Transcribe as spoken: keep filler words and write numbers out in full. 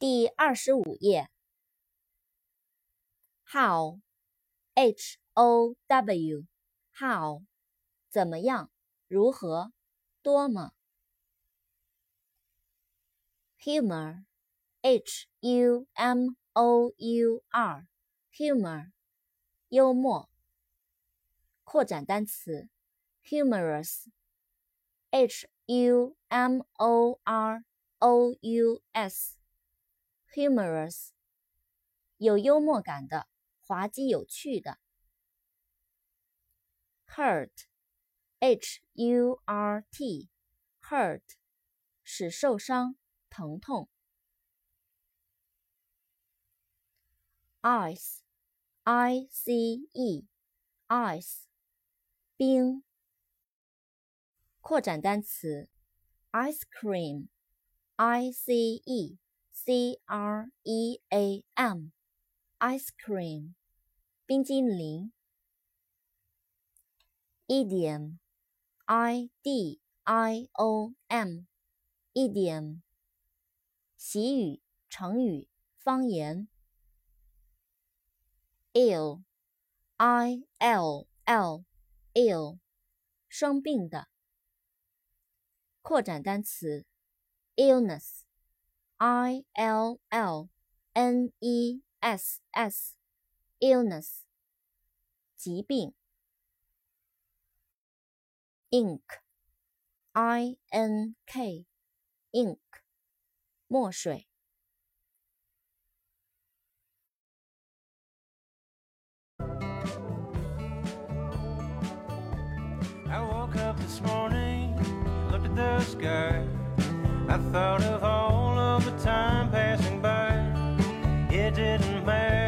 第二十五页 How H O W How 怎么样如何多么 Humor H U M O U R Humor 幽默扩展单词 Humorous H U M O R O U S Humorous 有幽默感的滑稽有趣的 Hurt H U R T Hurt 使受伤疼痛 Ice I C E Ice 冰扩展单词 Ice cream I C E C R E A M Ice cream 冰激凌 Idiom I D I O M Idiom 习语成语方言 Ill I L L Ill 生病的扩展单词 Illness I L L N E S S Illness 疾病 Ink I N K Ink 墨水 I woke up this morning, looked at the sky. I thought of all of the time passing by. It didn't matter.